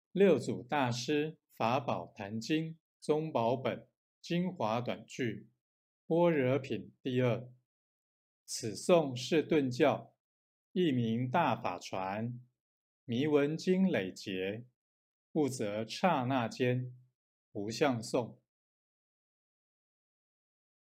六祖大师法宝坛经宗宝本精华短句般若品第二。此颂是顿教，译名大法传，迷文经累劫，悟则刹那间，无相颂。